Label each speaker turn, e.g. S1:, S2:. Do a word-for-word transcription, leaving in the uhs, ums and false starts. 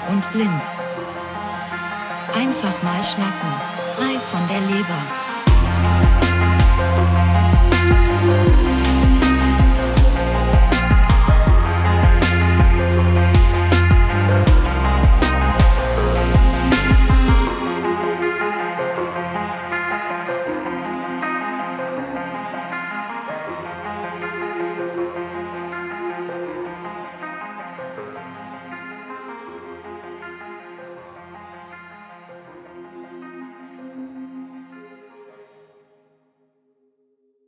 S1: und blind. Einfach mal schnacken, frei von der Leber.